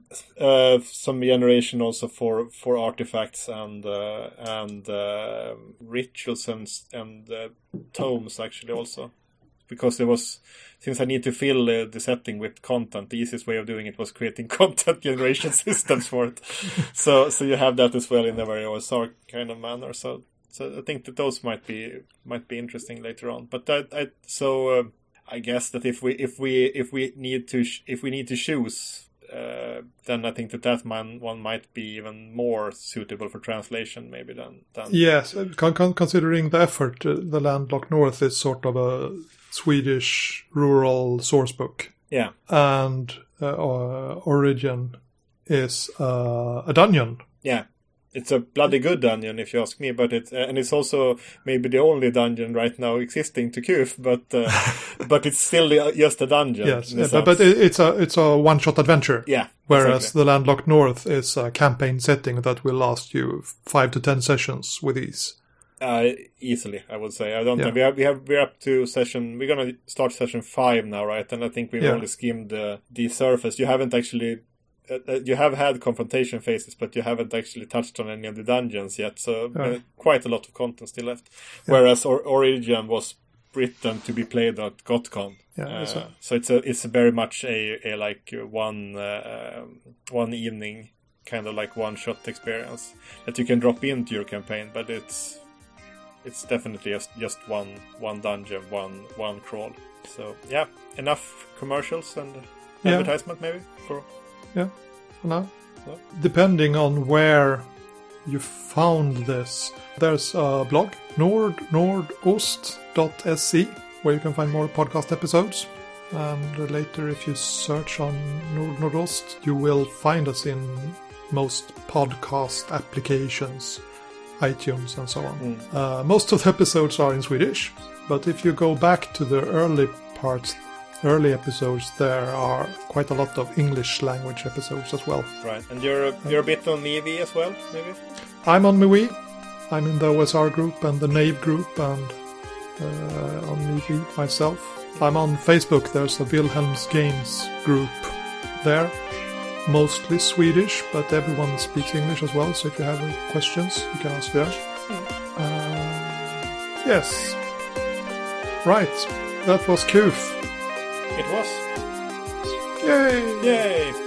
uh, some generation also for for artifacts and uh, and uh, rituals and and uh, tomes actually also. Because there was, since I need to fill uh, the setting with content, the easiest way of doing it was creating content generation systems for it. So, so you have that as well in a very O S R kind of manner. So, so I think that those might be might be interesting later on. But I, I so uh, I guess that if we if we if we need to sh- if we need to choose, uh, then I think that that man one might be even more suitable for translation, maybe than. than yes, con- con- considering the effort, uh, the Landlocked North is sort of a Swedish rural source book. Yeah. And uh, uh, Origin is uh, a dungeon. Yeah. It's a bloody good dungeon, if you ask me, but it uh, and it's also maybe the only dungeon right now existing to Q F, but uh, but it's still just a dungeon. Yes, yeah, but, but it's a it's a one shot adventure. Yeah. Whereas exactly. the Landlocked North is a campaign setting that will last you five to ten sessions with ease. Uh, easily, I would say. I don't yeah. know. We have we have we're up to session. We're gonna start session five now, right? And I think we've yeah. only skimmed the the surface. You haven't actually. Uh, you have had confrontation phases, but you haven't actually touched on any of the dungeons yet. So yeah. uh, quite a lot of content still left. Yeah. Whereas or- Origin was written to be played at GotCon. Yeah, uh, so. so it's a it's very much a, a like one uh, one evening kind of like one shot experience that you can drop into your campaign, but it's it's definitely just, just one one dungeon, one one crawl. So yeah, enough commercials and yeah. advertisement maybe for. Yeah, for now. Yeah. Depending on where you found this, there's a blog, nord nordost dot s c, where you can find more podcast episodes. And later, if you search on Nord Nordost, you will find us in most podcast applications, iTunes and so on. Mm. Uh, most of the episodes are in Swedish, but if you go back to the early parts, early episodes, there are quite a lot of English language episodes as well. Right, and you're you're a bit on MeWe as well, maybe? I'm on MeWe. I'm in the O S R group and the Knave group, and uh, on MeWe myself. I'm on Facebook. There's a Wilhelm's Games group there. Mostly Swedish, but everyone speaks English as well, so if you have any questions, you can ask there. Mm. Uh, yes. Right. That was Q F. It was. Yay! Yay!